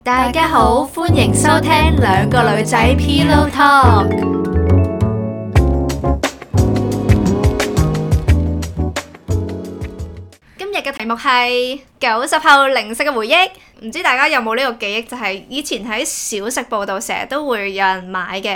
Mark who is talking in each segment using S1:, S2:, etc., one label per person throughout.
S1: 大家好，歡迎收聽兩個女仔 Pillow Talk。今日嘅題目係90後零食嘅回憶，唔知大家有冇呢個記憶？就係以前喺小食部度成日都會有人買嘅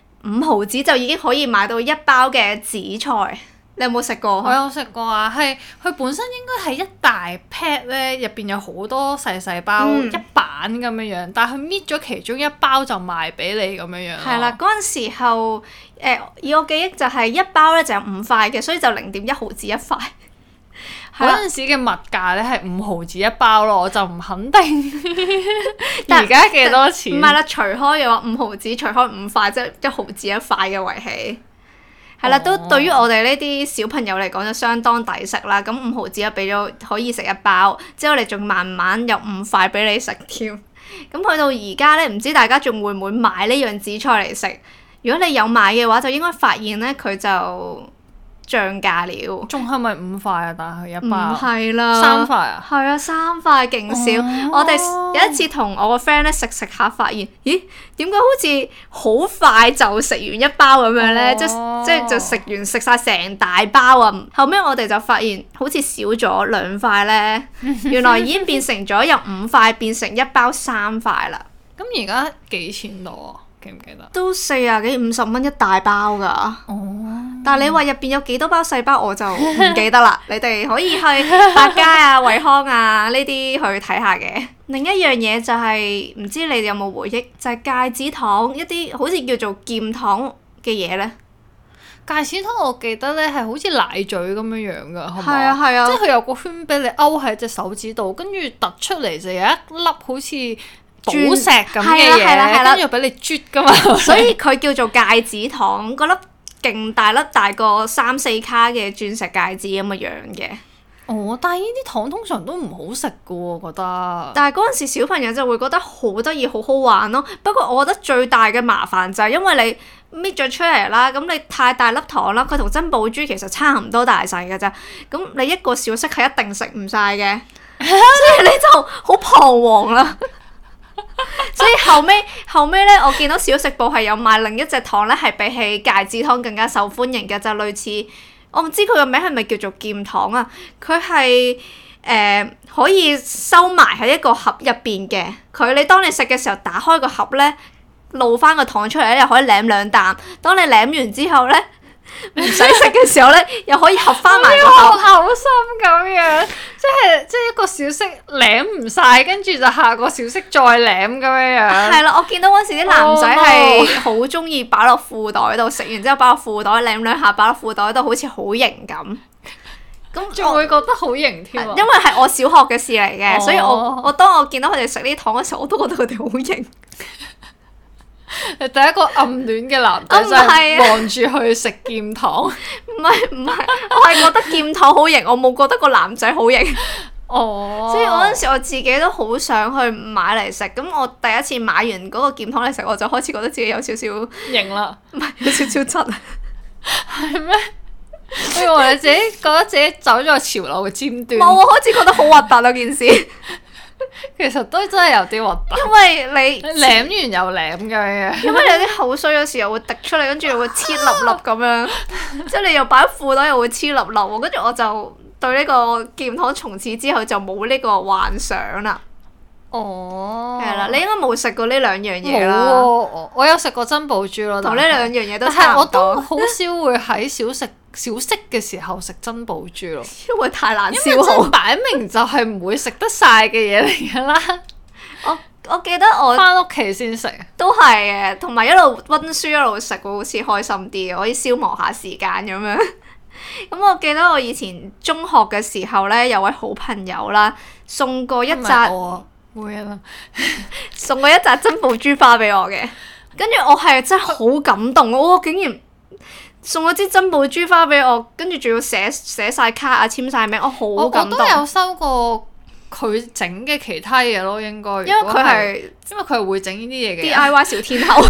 S1: 5毫子就已經可以買到一包嘅紫菜。你有冇食過？
S2: 我有食過啊，係佢本身應該係一大 pack 咧，入邊有好多細細包，一板咁樣樣，但係佢搣咗其中一包就賣俾你咁樣樣。
S1: 係啦，嗰陣時候，以我記憶就係一包咧就有5塊嘅，所以就0.1毫子一塊。
S2: 嗰陣時嘅物價咧係5毫子一包咯，我就唔肯定而家幾多錢。
S1: 唔係啦，除開嘅話5毫子，除開5塊，即係1毫子一塊嘅圍起。係啦，都對於我哋呢啲小朋友嚟講就相當抵食啦。咁5毫子又俾咗可以食一包，之後你仲慢慢有5塊俾你食添。咁去到而家咧，唔知大家仲會唔會買呢樣紫菜嚟食？如果你有買嘅話，就應該發現咧佢就漲價了。
S2: 仲係咪5塊啊？但係一包
S1: 唔係啦
S2: ，3塊啊？
S1: 係啊，3塊勁少。我哋有一次同我個 friend 咧食下，發現咦點解好似好快就食完一包咁樣咧？即係就食晒成大包啊！後尾我哋就發現好似少咗2塊咧，原來已經變成咗由5塊變成一包3塊啦。
S2: 咁而家幾錢度啊？記唔記得？
S1: 都40幾50蚊一大包㗎。但係你話入邊有幾多包細包我就唔記得啦。你哋可以去百佳啊、惠康啊呢啲去睇下嘅。另一樣嘢就係、唔知你哋有冇回憶，就係戒指糖，一啲好似叫做劍糖嘅嘢呢。
S2: 戒指糖我記得咧係好似奶嘴咁樣樣㗎，係
S1: 係啊係啊，
S2: 即係佢有個圈俾你勾喺隻手指度，跟住突出嚟就有一粒好似寶石咁嘅嘢，跟住俾你啜㗎嘛。
S1: 所以佢叫做戒指糖，嗰粒勁大粒，大過3-4卡嘅鑽石戒指咁嘅樣嘅。
S2: 哦，但係呢啲糖通常都唔好食㗎喎，我覺得。
S1: 但係嗰陣時小朋友就會覺得好得意、好好玩咯。不過我覺得最大嘅麻煩就係因為你搣咗出嚟啦，咁你太大粒糖啦，佢同珍寶珠其實差唔多大細㗎咋。咁你一個小息係一定食唔晒嘅，所以你就好彷徨啦。所以後尾咧，我見到小食部係有賣另一隻糖咧，係比起戒指糖更加受歡迎嘅，就類似我唔知佢個名係咪叫做劍糖啊？佢係可以收埋喺一個盒入邊嘅。你當你食嘅時候打開個盒咧，露翻個糖出嚟咧，又可以舐2啖。當你舐完之後咧，唔使食嘅時候咧，又可以合翻埋個口。
S2: 好心咁樣，即係一個小息舐唔晒，跟住就下個小息再舐咁樣樣。
S1: 係啦，我見到嗰時啲男仔係好中意擺落褲袋度，食完之後擺落褲袋舐2下，擺落褲袋度好似好型咁。咁
S2: 仲會覺得好型添啊！
S1: 因為係我小學嘅事嚟嘅，所以我當我見到佢哋食呢啲糖嘅時候，我都覺得佢哋好型。
S2: 第一個暗戀嘅男仔就係望住去食劍糖。
S1: 唔係，我係覺得劍糖好型，我冇覺得個男仔好型。所以嗰陣時我自己都好想去買嚟食。咁我第一次買完嗰個劍糖嚟食，我就開始覺得自己有少少
S2: 型啦，
S1: 唔係有少少質啊。
S2: 係咩？我以為你自己覺得自己走咗個潮流嘅尖端。
S1: 冇，我開始覺得好核突啊件事。
S2: 其實都真係有啲核突。
S1: 因為你
S2: 舐完又舐咁樣。
S1: 因為有啲口水有時候會滴出嚟，跟住又會黐粒粒咁樣，即係你又擺喺褲袋又會黐粒粒喎。跟住我就對呢個劍糖從此之後就冇呢個幻想啦。係啦，你應該冇食過呢2樣嘢啦。
S2: 冇喎，我有食過珍寶珠咯，
S1: 同呢2樣嘢都
S2: 但係
S1: 差唔多。
S2: 我都好少會喺小息嘅時候食珍寶珠咯，
S1: 因為太難消
S2: 因為
S1: 耗。
S2: 擺明就係唔會食得晒嘅嘢嚟㗎啦。
S1: 我記得我
S2: 翻屋企先食。
S1: 都係嘅，同埋一路溫書一路食會好似開心啲嘅，可以消磨下時間咁樣。咁我記得我以前中學嘅時候咧，有位好朋友啦，送過一紮
S2: 冇嘢啦，
S1: 送過一紮珍寶珠花俾我嘅。跟住我係真係好感動，我竟然送咗支珍寶珠花俾我，跟住仲要寫晒卡啊、簽晒名，我好感動。
S2: 我都有收過佢整嘅其他嘢咯，應該。
S1: 因為佢
S2: 係會整呢啲嘢嘅
S1: DIY 小天后。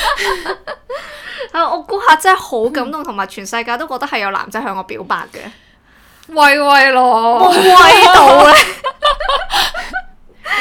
S1: 我嗰下真係好感動，同埋全世界都覺得係有男仔向我表白嘅。
S2: 威咯，
S1: 威到咧！
S2: 點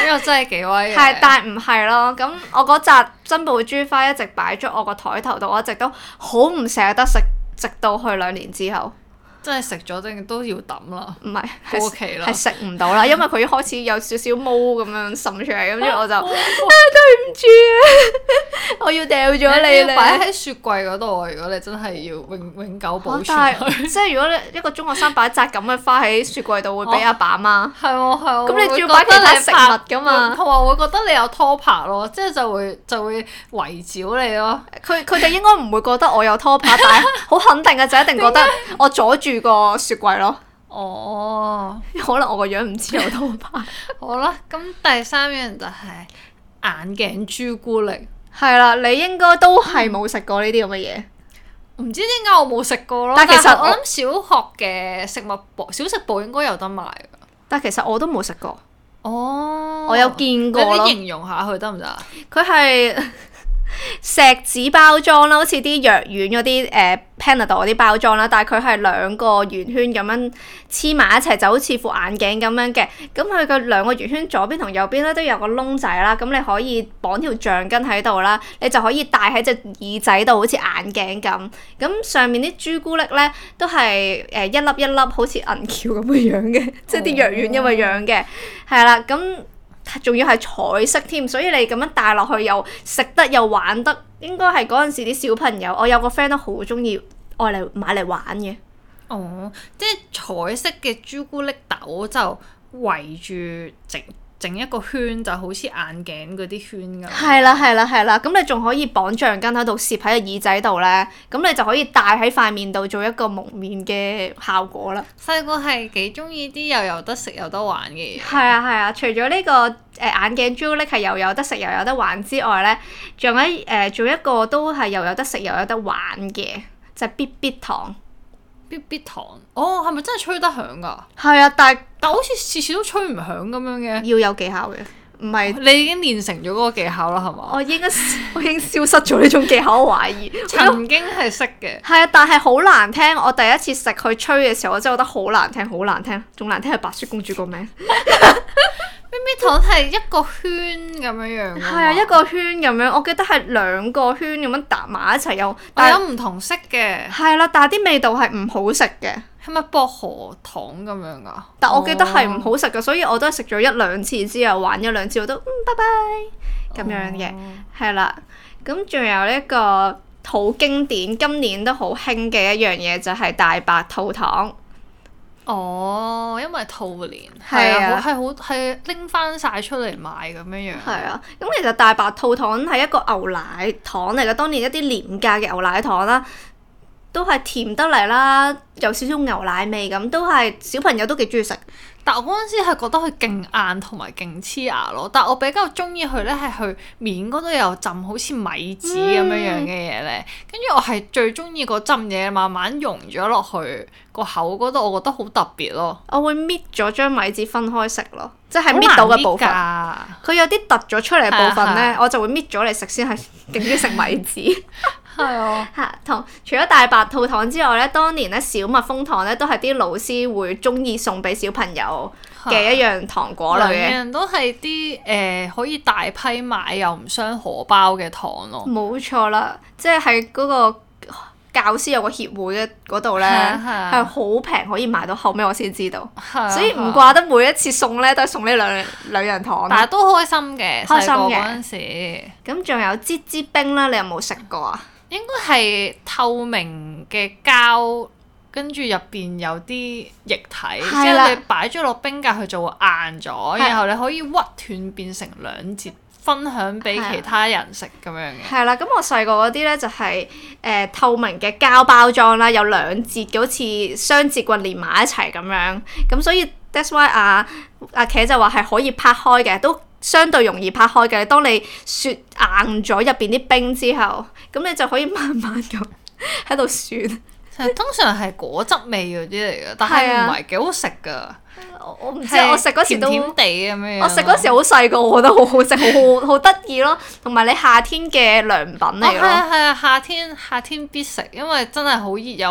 S2: 又真係幾威嘅。
S1: 係，但係唔係咯。咁我嗰紮珍寶珠花一直擺咗我個台頭度，我一直都好唔捨得食，直到去2年之後。
S2: 真係食咗定都要抌啦，
S1: 唔係，
S2: 過期啦，
S1: 係食唔到啦，因為佢開始有少少毛咁樣滲出嚟，跟住我就對唔住啊，我要掉咗你
S2: 要擺
S1: 咧。
S2: 喺雪櫃嗰度啊！如果你真係要永久保存
S1: 但
S2: 佢，
S1: 係即係如果你一個中學生擺一紮咁嘅花喺雪櫃度，會俾阿爸媽。
S2: 係喎係喎。
S1: 咁你仲要
S2: 會
S1: 擺其他
S2: 覺得你
S1: 食物㗎嘛
S2: 同埋會覺得你有拖拍咯，即係就會圍剿你咯。
S1: 佢哋應該唔會覺得我有拖拍，但係好肯定嘅就一定覺得我阻住個雪櫃咯。
S2: 哦，
S1: 可能我個樣唔似有拖拍。
S2: 好啦，咁第三樣就係眼鏡朱古力。
S1: 係啦，你應該都係冇食過呢啲咁嘅嘢。
S2: 唔知點解我冇食過咯，
S1: 但其實
S2: 係我諗小學嘅食物部、小食部應該有得賣㗎。
S1: 但其實我都冇食過。
S2: 哦，
S1: 我有見過咯
S2: 你啲形容下佢得唔得啊？
S1: 佢係錫紙包裝啦，好似啲藥丸嗰啲Panadol 嗰啲包裝啦，但係佢係兩個圓圈咁樣黐埋一齊，就好似副眼鏡咁樣嘅。咁佢個兩個圓圈左邊同右邊咧都有個窿仔啦，咁你可以綁條橡筋喺度啦，你就可以戴喺隻耳仔度，好似眼鏡咁。咁上面啲朱古力咧都係一粒一粒好似銀條咁嘅樣嘅，即係啲藥丸咁嘅樣嘅，係啦，咁。仲要係彩色添，所以你咁樣戴落去又食得又玩得，應該係嗰陣時啲小朋友，我有個 friend 都好中意愛嚟買嚟玩嘅。
S2: 哦，即係彩色嘅朱古力豆就圍住整一個圈，就好似眼鏡嗰啲圈咁。
S1: 係啦係啦係啦，咁你仲可以綁橡筋喺度攝喺個耳仔度咧，咁你就可以戴喺塊面度做一個蒙面嘅效果啦。
S2: 細個係幾中意啲又有得食有得玩嘅嘢。
S1: 係啊係啊，除咗呢個眼鏡朱古力係又有得食又有得玩之外咧，仲有一個都係又有得食又有得玩嘅，就係必必糖。
S2: 必必糖，哦，係咪真係吹得響㗎？
S1: 係啊，但
S2: 好似次次都吹唔響咁樣嘅。
S1: 要有技巧嘅，唔係
S2: 你已經練成咗嗰個技巧啦，係嘛？
S1: 我已經消失咗呢種技巧，我懷疑。
S2: 曾經係識嘅。
S1: 係啊，但係好難聽。我第一次食佢吹嘅時候，我真係覺得好難聽，好難聽，仲難聽係白雪公主個名。
S2: 必必糖係一個圈咁樣樣㗎嘛。
S1: 係啊，一個圈咁樣，我記得係兩個圈咁樣搭埋一齊有，但係
S2: 有唔同色嘅。
S1: 係啦，但係啲味道係唔好食嘅。
S2: 係咪薄荷糖咁樣㗎？
S1: 但我記得係唔好食嘅，所以我都係食咗一兩次之後玩一兩次，我都拜拜咁樣嘅，係啦。咁仲有一個好經典，今年都好興嘅一樣嘢就係大白兔糖。
S2: 哦，因為兔年
S1: 係啊
S2: 係拎翻晒出嚟賣咁樣樣。
S1: 係啊，咁其實大白兔糖係一個牛奶糖嚟嘅，當年一啲廉價嘅牛奶糖啦，都係甜得嚟啦，有少少牛奶味咁，都係小朋友都幾中意食。
S2: 但我嗰陣時係覺得佢勁硬同埋勁黐牙咯，但我比較中意佢咧係佢面嗰度有浸好似米紙咁樣樣嘅嘢咧，跟住我係最中意嗰浸嘢慢慢溶咗落去個口嗰度，我覺得好特別咯。
S1: 我會搣咗張米紙分開食咯，即係搣到嘅部分。佢有啲突咗出嚟嘅部分咧，我就會搣咗嚟食先，係勁中意食米紙。
S2: 係啊，
S1: 除咗大白兔糖之外咧，當年咧小蜜蜂糖咧都係啲老師會中意送俾小朋友嘅一樣糖果類嘅。
S2: 兩樣都係啲可以大批買又唔傷荷包嘅糖咯。
S1: 冇錯啦，即係喺嗰個教師有個協會嘅嗰度咧，係好平可以買到，後尾我先知道。所以唔怪得每一次送咧都係送呢兩樣糖。
S2: 但係都開心嘅，
S1: 開心嘅
S2: 細個嗰陣時。
S1: 咁仲有芝芝冰啦，你有冇食過啊？
S2: 應該係透明嘅膠，跟住入邊有啲液體，之後你擺咗落冰格，佢就會硬咗，然後你可以屈斷變成兩截，分享俾其他人食咁樣嘅。
S1: 係啦，咁我細個嗰啲咧就係透明嘅膠包裝啦，有兩截嘅，好似雙節棍連埋一齊咁樣，咁所以 that's why 阿茄就話係可以拍開嘅，都相對容易拍開嘅。當你雪硬咗入邊啲冰之後，咁你就可以慢慢咁喺度雪。
S2: 通常係果汁味嗰啲嚟嘅，但係唔係幾好食㗎。
S1: 我唔知，我食嗰時都
S2: 甜甜地咁樣。
S1: 我食嗰時好細個，我覺得好好食，好得意咯。同埋你夏天嘅涼品嚟咯。
S2: 係啊，夏天必食，因為真係好熱又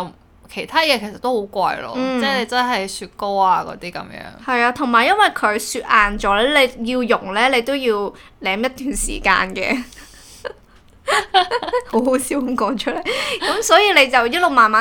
S2: 其他嘢其實都好貴咯，即係你真係雪糕啊嗰啲咁樣。
S1: 係啊，同埋因為佢雪硬咗咧，你要溶咧，你都要舐一段時間嘅。好好笑咁講出嚟，咁所以你就一路慢慢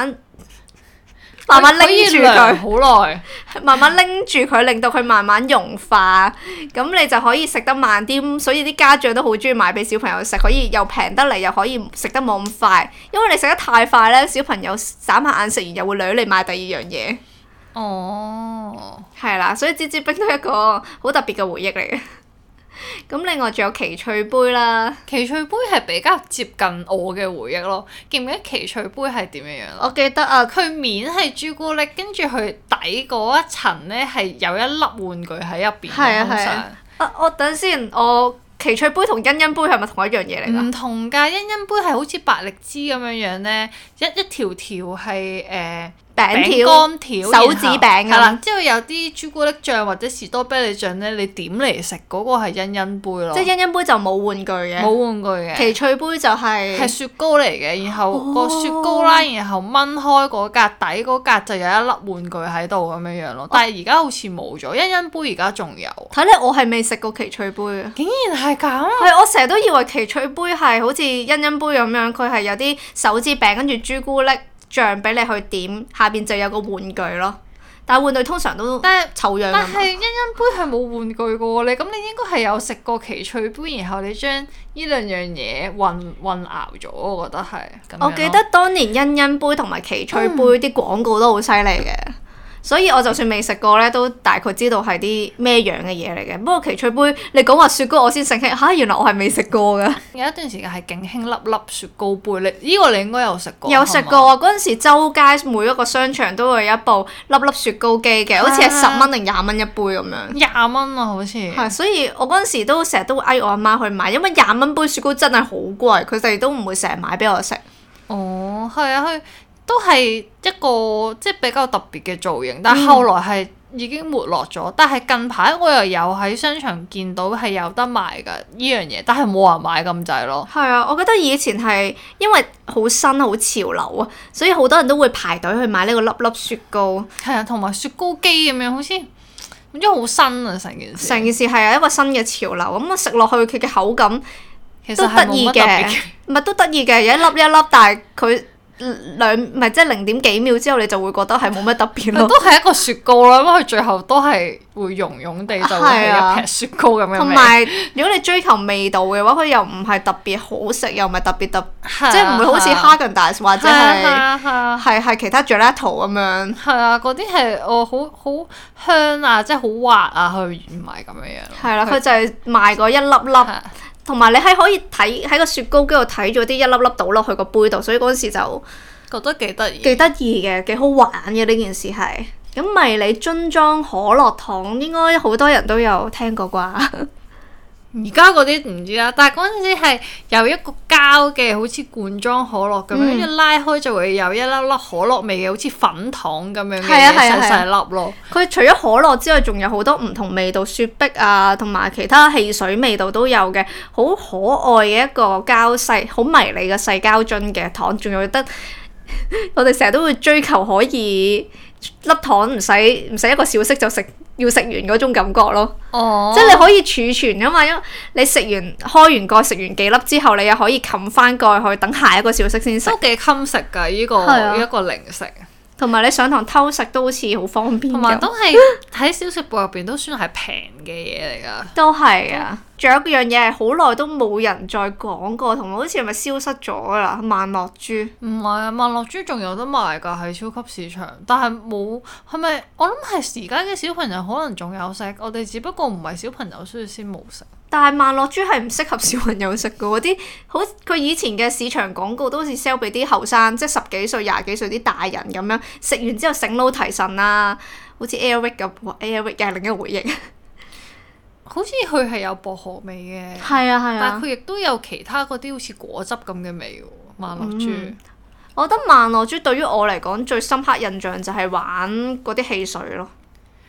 S1: 拎住佢，
S2: 好耐，
S1: 慢慢拎住佢，令到佢慢慢融化，咁你就可以食得慢啲。所以啲家長都好中意買俾小朋友食，可以又平得嚟，又可以食得冇咁快。因為你食得太快咧，小朋友眨下眼食完又會掠你買第二樣嘢。
S2: 哦，
S1: 係啦，所以芝芝冰都係一個好特別嘅回憶嚟嘅。咁另外仲有奇趣杯啦，
S2: 奇趣杯係比較接近我嘅回憶咯。記唔記得奇趣杯係點樣樣？
S1: 我記得啊，
S2: 佢面係朱古力，跟住佢底嗰一層咧係有一粒玩具喺入邊。
S1: 係啊
S2: 通常。
S1: 係啊。我等先，我奇趣杯同欣欣杯係咪同一樣嘢嚟㗎？
S2: 唔同㗎，欣欣杯係好似百力滋咁樣樣咧，一條條係
S1: 餅
S2: 乾條，
S1: 手指餅咁。
S2: 係啦，之後有啲朱古力醬或者士多啤梨醬咧，你點嚟食嗰個係欣欣杯咯。
S1: 即係欣欣杯就冇玩具嘅。
S2: 冇玩具嘅。
S1: 奇趣杯就係
S2: 雪糕嚟嘅，然後個雪糕啦，然後掹開嗰格底嗰格就有一粒玩具喺度咁樣樣咯。但係而家好似冇咗，欣欣杯而家仲有。
S1: 睇嚟我係未食過奇趣杯啊！
S2: 竟然係咁。
S1: 係我成日都以為奇趣杯係好似欣欣杯咁樣，佢係有啲手指餅跟住朱古力醬俾你去點，下邊就有個玩具咯。但係玩具通常都醜樣。
S2: 但係欣欣杯係冇玩具嘅喎，你咁你應該係有食過奇趣杯，然後你將呢兩樣嘢混淆咗，我覺得係。
S1: 我記得當年欣欣杯同埋奇趣杯啲廣告都好犀利嘅。所以我就算未食過咧，都大概知道係啲咩樣嘅嘢嚟嘅。不過奇趣杯，你講話雪糕，我先醒起嚇，原來我係未食過㗎。
S2: 有一段時間係勁興粒粒雪糕杯，呢個你應該有食過。
S1: 有食過啊！嗰陣時周街每一個商場都會有一部粒粒雪糕機嘅，好似係10蚊定20蚊一杯咁樣。
S2: 20蚊啊，好似。
S1: 係，所以我嗰陣時都成日都嗌我阿媽去買，因為20蚊杯雪糕真係好貴，佢哋都唔會成日買俾我食。
S2: 哦，係啊，佢都係一個即係比較特別嘅造型，但係後來係已經沒落咗。但係近排我又有喺商場見到係有得賣㗎呢樣嘢，但係冇人買咁滯咯。係
S1: 啊，我覺得以前係因為好新好潮流啊，所以好多人都會排隊去買呢個粒粒雪糕。
S2: 係啊，同埋雪糕機咁樣，好似唔知好新啊成件事。
S1: 成件事係一個新嘅潮流，咁啊食落去佢嘅口感
S2: 其實
S1: 都得意嘅，唔係都得意嘅，有一粒一粒，但係佢即係0.幾秒之後，你就會覺得係冇乜特別咯。
S2: 都係一個雪糕咯，因為佢最後都係會溶溶地就會係一撇雪糕咁樣味。
S1: 同埋如果你追求味道嘅話，佢又唔係特別好食，又唔係特別即係唔會好似 Häagen-Dazs 或者係其他 Gelato 咁樣。係
S2: 啊，嗰啲係好香啊，即係好滑啊，佢唔係咁樣樣。
S1: 係啦，佢就係賣嗰一粒粒。同埋你係可以睇喺個雪糕機度睇咗啲一粒粒倒落去個杯度，所以嗰陣時就
S2: 覺得幾得意。
S1: 幾得意嘅，幾好玩嘅呢件事係。咁迷你樽裝可樂糖應該好多人都有聽過啩？
S2: 而家嗰啲唔知啦，但係嗰陣時係有一個膠嘅，好似罐裝可樂咁樣，一拉開就會有一粒粒可樂味嘅，好似粉糖咁樣嘅細細粒咯。
S1: 佢除咗可樂之外，仲有好多唔同味道，雪碧啊，同埋其他汽水味道都有嘅，好可愛嘅一個膠細，好迷你嘅細膠樽嘅糖，仲有得我哋成日都會追求可以粒糖唔使一個小息就要食完嗰種感覺咯。即係你可以儲存噶嘛，因為你食完開完蓋食完幾粒之後，你又可以冚翻蓋去等下一個小息先食。
S2: 都幾襟食㗎呢個零食。
S1: 同埋你上堂偷食都好似好方便。
S2: 同埋都係喺小食部入邊都算係平嘅嘢嚟㗎。
S1: 都係啊！仲有一樣嘢係好耐都冇人再講過，同埋好似係咪消失咗㗎啦？萬樂珠。唔係啊，萬樂珠仲有得賣㗎喺超級市場，但係冇係咪？我諗係而家嘅小朋友可能仲有食，我哋只不過唔係小朋友，所以先冇食。但係萬樂珠係唔適合小朋友食嘅喎，啲好佢以前嘅市場廣告都好似 sell 俾啲後生，即係10幾歲、20幾歲啲大人咁樣，食完之後醒腦提神啦，好似 Airwick 咁，Airwick 又係另一個回憶。好似佢係有薄荷味嘅，係啊，但係佢亦都有其他嗰啲好似果汁咁嘅味喎。萬樂珠，我覺得萬樂珠對於我嚟講最深刻印象就係玩嗰啲汽水咯。哇！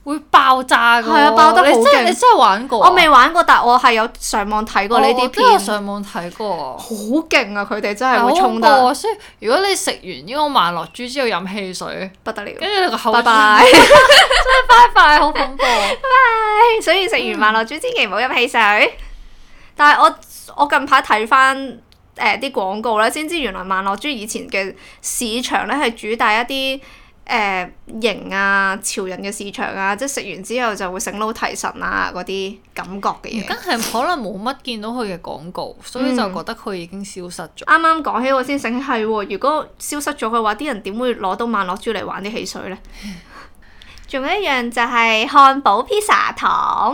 S2: 會爆炸㗎喎。
S1: 係啊，爆得好勁。
S2: 你真係玩過啊？
S1: 我未玩過，但我係有上網睇過呢啲
S2: 我都有
S1: 片。
S2: 上網睇過。
S1: 好勁啊！佢哋真係會
S2: 好
S1: 衝得
S2: 恐怖啊！所以如果你食完呢個萬樂珠之後飲汽水，
S1: 不得了。
S2: 跟住你個口
S1: 拜拜。
S2: 拜拜，好恐怖。
S1: 所以食完萬樂珠千祈唔好飲汽水。但係我近排睇翻啲廣告咧，先知原來萬樂珠以前嘅市場咧係主打一啲型啊潮人嘅市場啊，即係食完之後就會醒腦提神啊嗰啲感覺嘅嘢。
S2: 而家係可能冇乜見到佢嘅廣告，所以就覺得佢已經消失咗。
S1: 啱啱講起我先醒起係喎，如果消失咗嘅話，啲人點會攞到萬樂珠嚟玩啲汽水呢？仲有一樣就係漢堡披薩糖。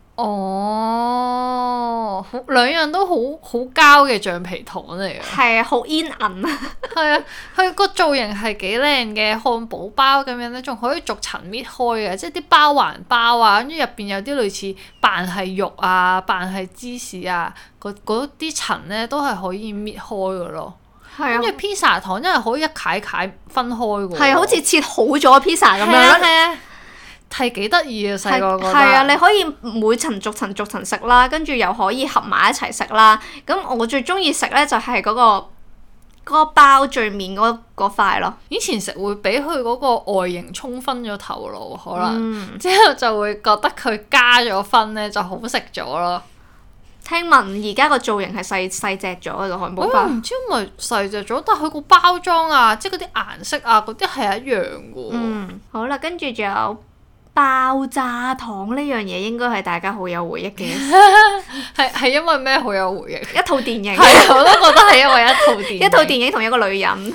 S2: 哦，兩樣都好膠嘅橡皮糖嚟嘅。
S1: 係啊，好煙韌啊！
S2: 係啊，佢個造型係幾靚嘅，漢堡包咁樣咧，仲可以逐層搣開嘅，即係啲包環包啊，跟住入邊有啲類似扮係肉啊、扮係芝士啊，嗰啲層咧都係可以搣開嘅咯。
S1: 係啊，
S2: 跟住披薩糖真係可以一塊分開嘅喎。
S1: 係啊，好似切好咗披薩咁樣。
S2: 係啊。係幾得意啊！細個覺得
S1: 係啊，你可以每層逐層食啦，跟住又可以合埋一齊食啦。咁我最中意食咧就係嗰個包最面嗰塊咯。
S2: 以前食會俾佢嗰個外形沖昏咗頭腦，可能、之後就會覺得佢加咗分咧就好食咗咯。
S1: 聽聞而家個造型係細隻咗個漢堡包。
S2: 我唔知係咪細隻咗，但係佢個包裝啊，即係嗰啲顏色啊，嗰啲係一樣嘅喎。
S1: 好啦，跟住仲有爆炸糖呢樣嘢，應該係大家好有回憶嘅。
S2: 係因為咩好有回憶？
S1: 一套電影。
S2: 係啊，我都覺得係因為一套電影。
S1: 一套電影同一個女人。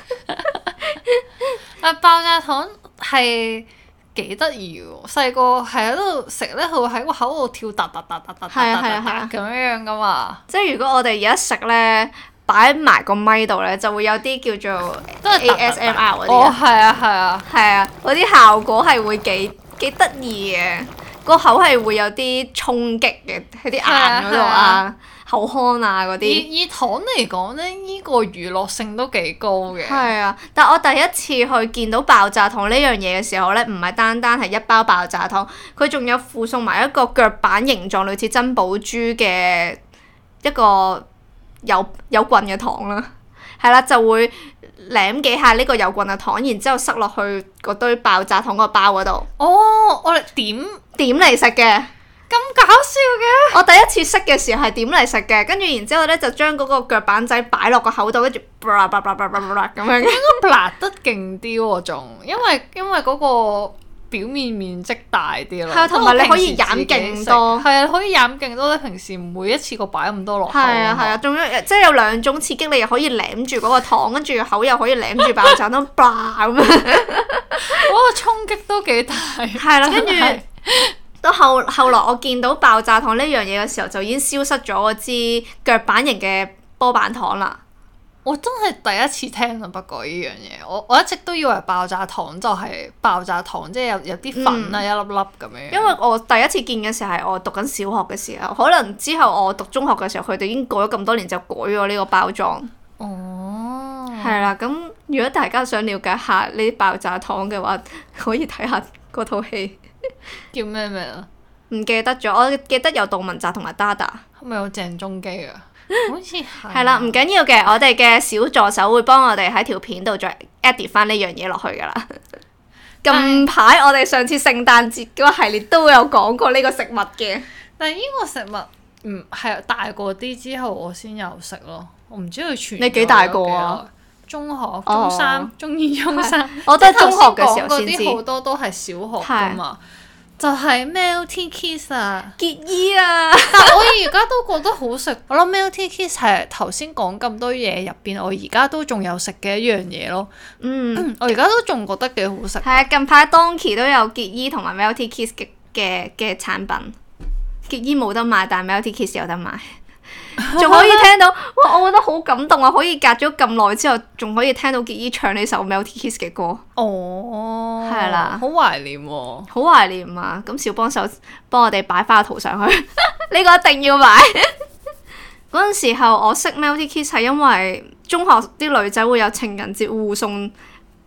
S2: 爆炸糖係幾得意喎！細個係喺度食咧，佢會喺個口度跳突突突突突突咁樣噶嘛。
S1: 即係如果我哋而家食咧，擺埋個咪度咧，就會有啲叫做 ASMR 嗰啲。
S2: 哦，係啊，係啊。
S1: 係啊，嗰啲效果係會幾得意嘅，個口係會有啲衝擊嘅喺啲眼嗰度啊、口腔啊嗰啲。
S2: 以糖嚟講咧，呢個娛樂性都幾高嘅。
S1: 係啊，但我第一次去見到爆炸糖呢樣嘢嘅時候咧，唔係單單係一包爆炸糖，佢仲有附送埋一個腳板形狀類似珍寶珠嘅一個有棍嘅糖啦。係啦，就會舐幾下呢個有棍嘅糖，然之後塞落去嗰堆爆炸糖個包嗰度。
S2: 哦，我哋點
S1: 嚟食嘅。
S2: 咁搞笑嘅！
S1: 我第一次識嘅時候係點嚟食嘅，跟住然之後咧就將嗰個腳板仔擺落個口度，跟住咁樣。
S2: 應該辣得勁啲喎，仲因為嗰個表面面積大啲咯。
S1: 係啊，同埋你可以飲勁多。
S2: 係啊，可以飲勁多。你平時唔會一次過擺咁多落口。
S1: 係啊，仲有即係有兩種刺激，你又可以舐住嗰個糖，跟住口又可以舐住爆炸糖，咁樣。嗰
S2: 個衝擊都幾大。
S1: 係啦，跟住。到後來我見到爆炸糖呢樣嘢嘅時候，就已經消失咗嗰支腳板型嘅波板糖啦。
S2: 我真係第一次聽啊！不過呢樣嘢，我一直都以為爆炸糖就係爆炸糖，即係有啲粉啊，一粒粒咁樣。
S1: 因為我第一次見嘅時候係我讀緊小學嘅時候，可能之後我讀中學嘅時候，佢哋已經過咗咁多年就改咗呢個包裝。
S2: 哦。係
S1: 啦，咁如果大家想了解下呢啲爆炸糖嘅話，可以睇下嗰套戲。
S2: 叫咩名啊？
S1: 唔記得咗，我記得有杜汶澤同埋 Dada。
S2: 係咪有鄭中基啊？好似係。
S1: 係啦，唔緊要嘅，我哋嘅小助手會幫我哋喺條片度再 edit 翻呢樣嘢落去㗎啦。近排我哋上次聖誕節嗰個系列都有講過呢個食物嘅。
S2: 但係呢個食物係大個啲之後我先有食咯，我唔知佢傳。
S1: 你幾大個啊？
S2: 中學、中三、中二、中三。
S1: 我都係中學嘅時候先知。
S2: 嗰啲好多都係小學㗎嘛。就係 Melty Kiss 啊，
S1: 結衣啊！
S2: 但我而家都覺得好食。我諗 Melty Kiss 係頭先講咁多嘢入邊，我而家都仲有食嘅一樣嘢咯。我而家都仲覺得幾好食。
S1: 係啊，近排 Donkey 都有結衣同埋 Melty Kiss 嘅產品。結衣冇得賣，但係 Melty Kiss 有得賣。仲可以聽到，哇！我覺得好感動啊！可以隔咗咁耐之後，仲可以聽到結衣唱呢首 Melty Kiss 嘅歌。
S2: 哦，
S1: 係啦，
S2: 好懷念喎，
S1: 好懷念啊！咁小幫手幫我哋擺翻個圖上去，呢個一定要擺。嗰陣時候我識 Melty Kiss 係因為中學啲女仔會有情人節互送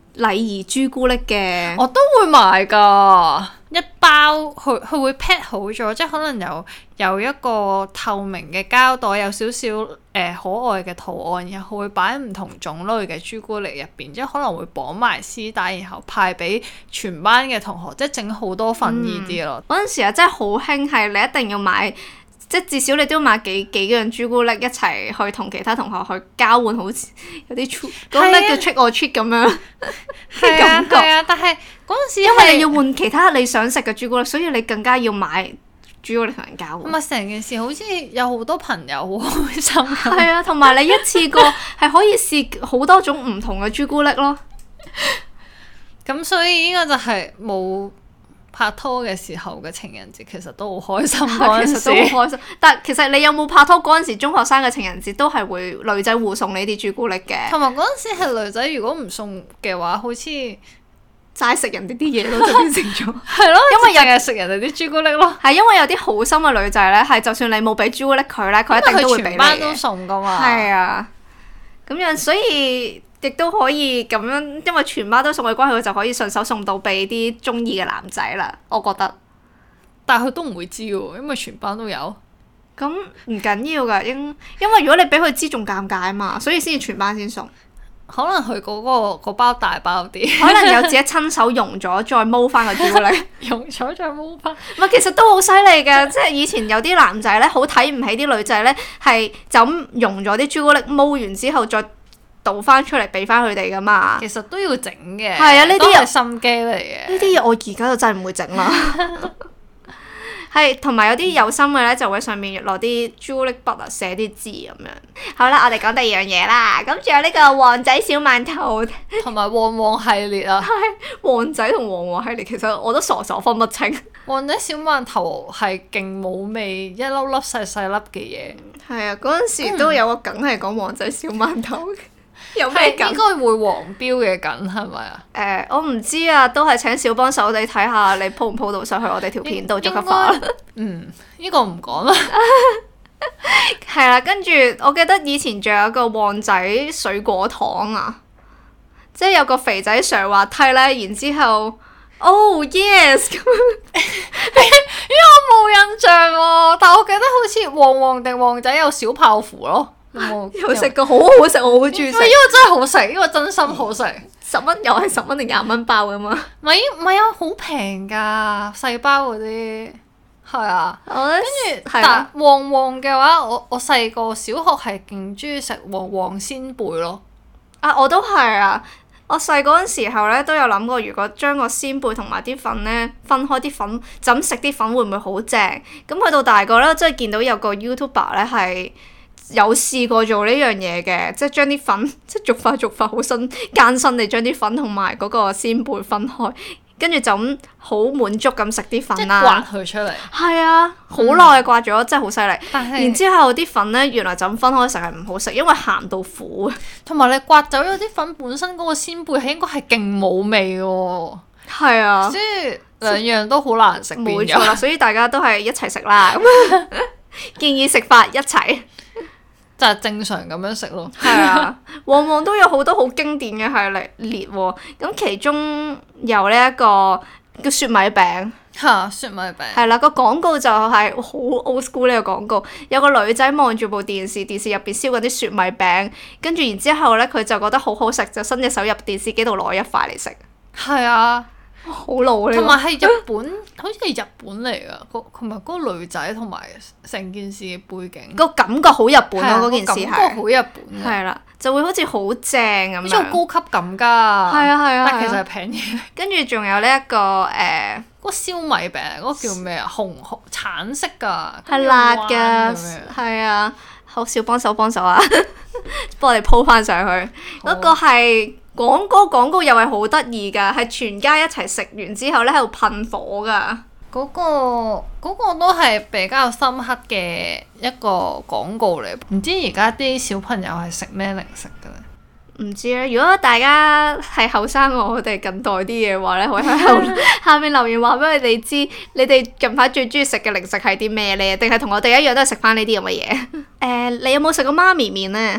S1: 禮儀朱古力嘅。
S2: 我都會買㗎，一包佢會 pack 好咗，即係可能有一個透明嘅膠袋，有少少可愛嘅圖案，然後會擺唔同種類嘅朱古力入邊，即係可能會綁埋絲帶，然後派俾全班嘅同學，即係整好多份呢啲咯。
S1: 嗰陣時啊，真係好興，係你一定要買。即係至少你都要買幾樣朱古力一齊去同其他同學去交換，好似有啲嗰咩叫 trick or treat 咁樣嘅感覺。
S2: 係啊，但係嗰陣時
S1: 因為你要換其他你想食嘅朱古力，所以你更加要買朱古力同人交換。
S2: 咁啊，成件事好似有好多朋友好開心。
S1: 係啊，同埋你一次過係可以試好多種唔同嘅朱古力咯。
S2: 咁所以呢個就係冇拍拖嘅時候嘅情人節，其實都好開心嗰陣時。
S1: 其實都好開心，但其實你有冇拍拖嗰陣時，中學生嘅情人節都係會女仔互送呢啲朱古力嘅。
S2: 同埋嗰陣時係女仔，如果唔送嘅話，好似
S1: 齋食人哋啲嘢咯，就變成咗。
S2: 係咯，因為日日食人哋啲朱古力咯。
S1: 係因為有啲好心嘅女仔咧，係就算你冇俾朱古力佢咧，佢一定都會俾你嘅。
S2: 全班都送噶嘛。
S1: 係啊，咁樣所以亦都可以咁樣，因為全班都送嘅關係，佢就可以順手送到俾啲中意嘅男仔啦。我覺得，
S2: 但係佢都唔會知喎，因為全班都有。
S1: 咁唔緊要噶，因為如果你俾佢知，仲尷尬啊嘛，所以先至全班先送。
S2: 可能佢嗰包大包啲，
S1: 可能有自己親手溶咗，再撈翻個朱古力，
S2: 溶咗再撈翻。
S1: 唔係，其實都好犀利嘅，即係以前有啲男仔咧，好睇唔起啲女仔咧，係就咁溶咗啲朱古力，撈完之後再倒翻出嚟俾翻佢哋噶嘛。
S2: 其實都要整嘅，
S1: 係啊，呢啲
S2: 都係心機嚟嘅。
S1: 呢啲嘢我而家就真係唔會整啦。係，同埋有啲有心嘅咧，就會上面落啲朱古力筆啊，寫啲字咁樣。好啦，我哋講第二樣嘢啦。咁仲有呢個旺仔小饅頭，
S2: 同埋旺旺系列啊。
S1: 旺仔同旺旺系列，其實我都傻傻分不清。
S2: 旺仔小饅頭係勁冇味，一粒粒細細粒嘅嘢。
S1: 係啊，嗰陣時都有個梗係講旺仔小饅頭。有咩梗？
S2: 應該會黃標嘅梗係咪啊？
S1: 我唔知啊，都係請小幫手你睇下，你鋪唔鋪到上去我哋條片度，捉個花。
S2: 呢個唔講啦。
S1: 係啦，跟住我記得以前仲有個旺仔水果糖啊，即係有個肥仔上滑梯咧，然之後，Oh yes 咁。
S2: 因為我冇印象喎，但我記得好似旺旺定旺仔有小泡芙咯。
S1: 有食過，好好食，我好中意食。
S2: 因為真係好食，因為真心好食。
S1: 10蚊又係10蚊定20蚊包噶嘛？
S2: 唔係啊，好平㗎，細包嗰啲。係啊，
S1: 跟住
S2: 但旺旺嘅話，我細個小學係勁中意食旺旺仙貝咯。
S1: 啊，我都係啊！我細嗰陣時候咧都有諗過，如果將個仙貝同埋啲粉咧分開，啲粉就咁食啲粉會唔會好正？咁去到大個咧，真係見到有個 YouTuber 咧係有試過做呢樣嘢嘅，即係將啲粉即係逐塊好艱辛地將啲粉同埋嗰個仙貝分開。跟住就咁好滿足咁食啲粉啦，
S2: 刮佢出嚟。
S1: 係啊，好耐刮咗，真係好犀利。
S2: 但係
S1: 然之後啲粉咧，原來就咁分開食係唔好食，因為鹹到苦。
S2: 同埋你刮走咗啲粉本身嗰個鮮貝係應該係勁冇味嘅喎。
S1: 係啊，
S2: 即係兩樣都好難食。
S1: 冇錯啦，所以大家都係一齊食啦。建議食法一齊。
S2: 就係正常咁樣食咯。
S1: 係啊，旺旺都有好多好經典嘅系列喎。咁其中有呢一個叫雪米餅。
S2: 嚇，雪米餅。
S1: 係啦，個廣告就係好 old school 呢個廣告。有個女仔望住部電視，電視入邊燒緊啲雪米餅，跟住然之後咧，佢就覺得好好食，就伸隻手入電視機度攞一塊嚟食。
S2: 係啊。
S1: 好老呢個，
S2: 同埋係日本，好似係日本嚟㗎，同埋嗰個女仔同埋成件事嘅背景，
S1: 個感覺好日本咯，嗰件事係。
S2: 感覺好日本。
S1: 係啦，就會好似好正咁樣。
S2: 好似好高級咁㗎。係
S1: 啊。
S2: 但其實係平嘢。
S1: 跟住仲有呢一個
S2: 嗰個燒米餅，嗰個叫咩啊？紅橙色㗎。
S1: 係辣㗎。係啊，好少幫手啊，幫我哋鋪翻上去。嗰個係。廣告又係好得意㗎，係全家一齊食完之後咧喺度噴火㗎。
S2: 嗰個都係比較深刻嘅一個廣告嚟。唔知而家啲小朋友係食咩零食㗎咧？
S1: 唔知咧。如果大家係後生過我哋近代啲嘅話咧，可以喺下面留言話俾我哋知，你哋近排最中意食嘅零食係啲咩咧？定係同我哋一樣都係食翻呢啲咁嘅嘢？你有冇食過媽咪麵咧？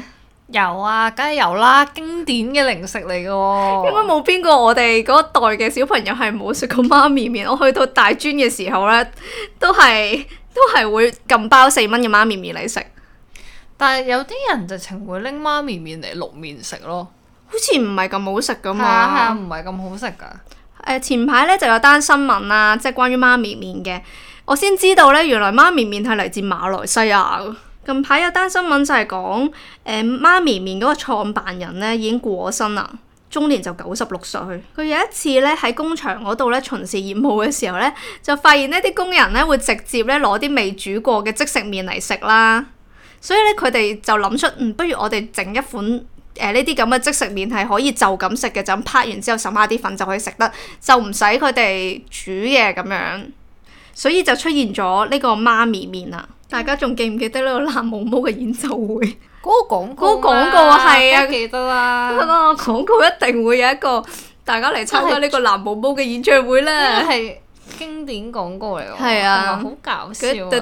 S2: 有啊，梗係有啦，經典嘅零食嚟嘅喎。
S1: 應該冇邊個我哋嗰一代嘅小朋友係冇食過媽咪麵。我去到大專嘅時候呢，都係會撳包4蚊嘅媽咪麵嚟食。
S2: 但係有啲人直情會拎媽咪麵嚟淥麵食咯。
S1: 好似唔係咁好食噶嘛。
S2: 係啊係啊，唔係咁好食㗎。
S1: 前排呢就有單新聞啦，即係關於媽咪麵嘅。我先知道呢，原來媽咪麵係嚟自馬來西亞㗎。近排有單新聞就係講媽咪麵嗰個創辦人呢已經過身啦，終年就96歲。佢有一次呢喺工場嗰度呢巡視業務嘅時候呢，就發現呢啲工人呢會直接呢攞啲未煮過嘅即食麵嚟食啦。所以呢，佢哋就諗出不如我哋整一款呢啲咁嘅即食麵係可以就咁食嘅，就咁拍完之後滲下啲粉就可以食得，就唔使佢哋煮嘅咁樣。所以就出現咗呢個媽咪麵啦。大家仲記唔記得呢個藍毛毛嘅演奏會？
S2: 嗰個廣告，
S1: 嗰個廣告係啊，
S2: 記得啦。
S1: 嗰個廣告一定會有一個大家嚟參加呢個藍毛毛嘅演唱會咧。
S2: 呢個係經典廣告嚟喎，
S1: 係啊，
S2: 同埋好搞笑啊！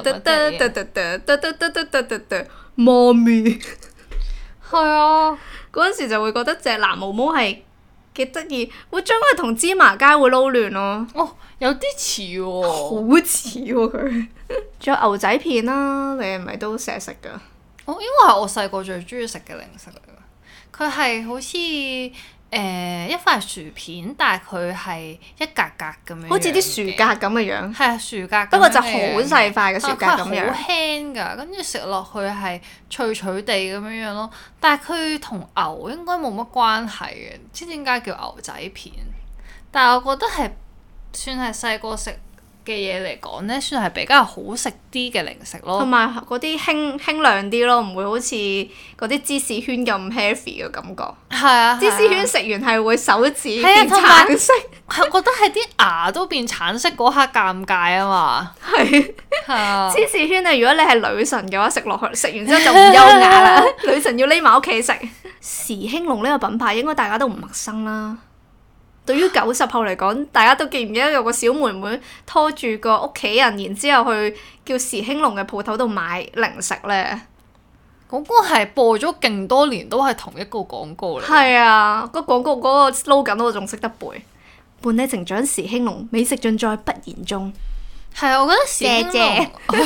S1: 媽咪
S2: 係啊，
S1: 嗰陣時就會覺得隻藍毛毛係幾得意，會將佢同芝麻街會撈亂咯。
S2: 哦，有啲似喎，
S1: 好似喎佢。仲有牛仔片啦，你係咪都成日食㗎？
S2: 哦，應該係我細個最中意食嘅零食嚟㗎。佢係好似一塊薯片，但係佢係一格格咁樣，
S1: 好似啲薯格咁嘅樣。
S2: 係啊，薯格。
S1: 不過就好細塊嘅薯格咁樣。
S2: 好輕㗎，跟住食落去係脆脆地咁樣咯。但係佢同牛應該冇乜關係嘅，唔知點解叫牛仔片。但係我覺得係算係細個食嘅嘢嚟講呢，算係比較好食啲嘅零食咯。
S1: 同埋嗰啲輕量啲咯，唔會好似嗰啲芝士圈咁 heavy 嘅感覺。
S2: 係啊，
S1: 芝士圈食完係會手指
S2: 係啊
S1: 變橙色。
S2: 係覺得係啲牙都變橙色嗰刻尷尬啊嘛。
S1: 係。
S2: 係啊。
S1: 芝士圈啊，如果你係女神嘅話，食落去食完之後就唔優雅啦。女神要匿埋屋企食。時興隆呢個品牌應該大家都唔陌生啦。對於90後嚟講，大家都記唔記得有個小妹妹拖住個屋企人，然之後去叫時興隆嘅鋪頭度買零食呢？
S2: 嗰個係播咗勁多年都係同一個廣告嚟。
S1: 係啊，個廣告嗰個 slogan 我仲識得背。伴你成長時興隆，美食盡在不言中。
S2: 係啊，我覺得時興隆。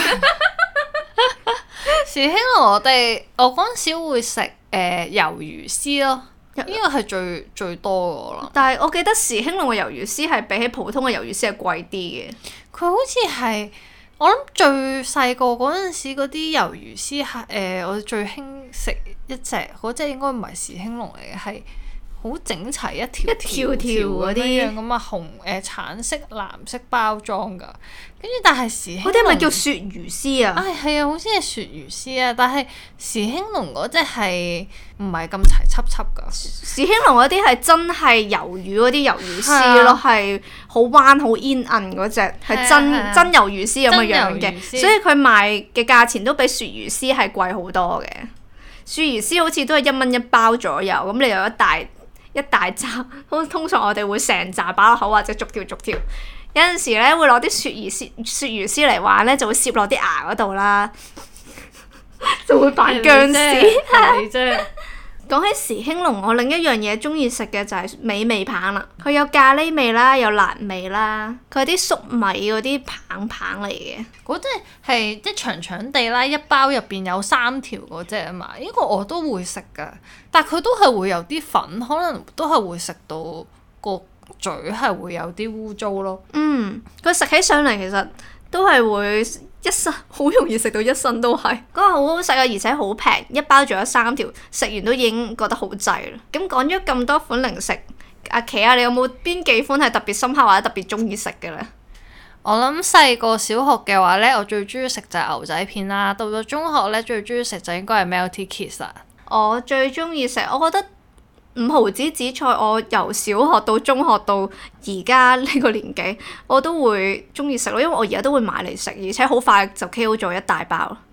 S2: 時興隆我嗰陣時會食魷魚絲咯。呢個係最多嘅啦。
S1: 但係我記得時興隆嘅魷魚絲係比起普通嘅魷魚絲係貴啲嘅。
S2: 佢好似係我諗最細個嗰陣時嗰啲魷魚絲係我最興食一隻嗰隻應該唔係時興隆嚟嘅，係好整齊一條條嗰啲樣咁啊，橙色藍色包裝㗎。跟住但係時興隆嗰
S1: 啲咪叫鱈魚絲啊？
S2: 係啊，好似係鱈魚絲啊，但係時興隆嗰隻係唔係咁齊輯輯㗎？
S1: 時興隆嗰啲係真係魷魚嗰啲魷魚絲咯，係好彎好煙韌嗰隻，係真魷魚絲咁嘅樣嘅，所以佢賣嘅價錢都比鱈魚絲係貴好多嘅。鱈魚絲好似都係1蚊一包左右，咁你有一大紮，通常我哋會成紮擺落口或者逐條。有陣時咧會攞啲鱈魚絲嚟玩咧，就會攝落啲牙嗰度啦，就會扮殭屍。
S2: 係啫。
S1: 講起時興隆，我另一樣嘢中意食嘅就係美味棒啦。佢有咖喱味啦，有辣味啦，佢係啲粟米嗰啲棒嚟嘅。
S2: 嗰隻係即長長地啦，一包入邊有3條嗰隻啊嘛。呢個我都會食㗎，但係佢都係會有啲粉，可能都係會食到個嘴係會有啲污糟咯。
S1: 佢食起上嚟其實都係會一身好容易食到一身都係。嗰個好好食啊，而且好平，一包仲有3條，食完都已經覺得好滯啦。咁講咗咁多款零食，阿琪啊，你有冇邊幾款係特別深刻或者特別中意食嘅呢？
S2: 我諗細個小學嘅話呢，我最中意食就係牛仔片啦。到咗中學呢，最中意食就應該係 Melty Kiss 啦。
S1: 我最中意食，我覺得5毫子紫菜，我由小學到中學到而家呢個年紀，我都會中意食咯，因為我而家都會買嚟食，而且好快就 KO 咗一大包。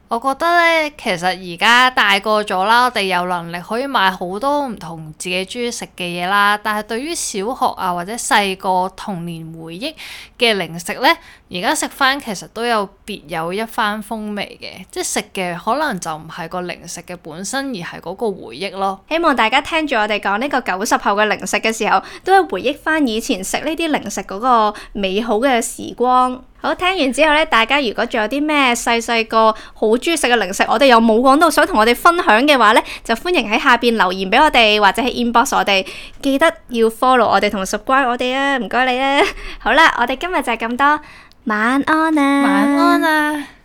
S2: 我覺得咧，其實而家大個咗啦，我哋有能力可以買好多唔同自己中意食嘅嘢啦。但係對於小學啊或者細個童年回憶嘅零食咧，而家食翻其實都有別有一番風味嘅，即係食嘅可能就唔係個零食嘅本身，而係嗰個回憶咯。
S1: 希望大家聽住我哋講呢個90後嘅零食嘅時候，都係回憶翻以前食呢啲零食嗰個美好嘅時光。好，聽完之後咧，大家如果仲有啲咩細個好中意食嘅零食，我哋又冇講到想同我哋分享嘅話咧，就歡迎喺下邊留言俾我哋，或者喺 inbox 我哋。記得要 follow 我哋同 subscribe 我哋啊，唔該你啊。好啦，我哋今日就係咁多，晚安啊，
S2: 晚安啊。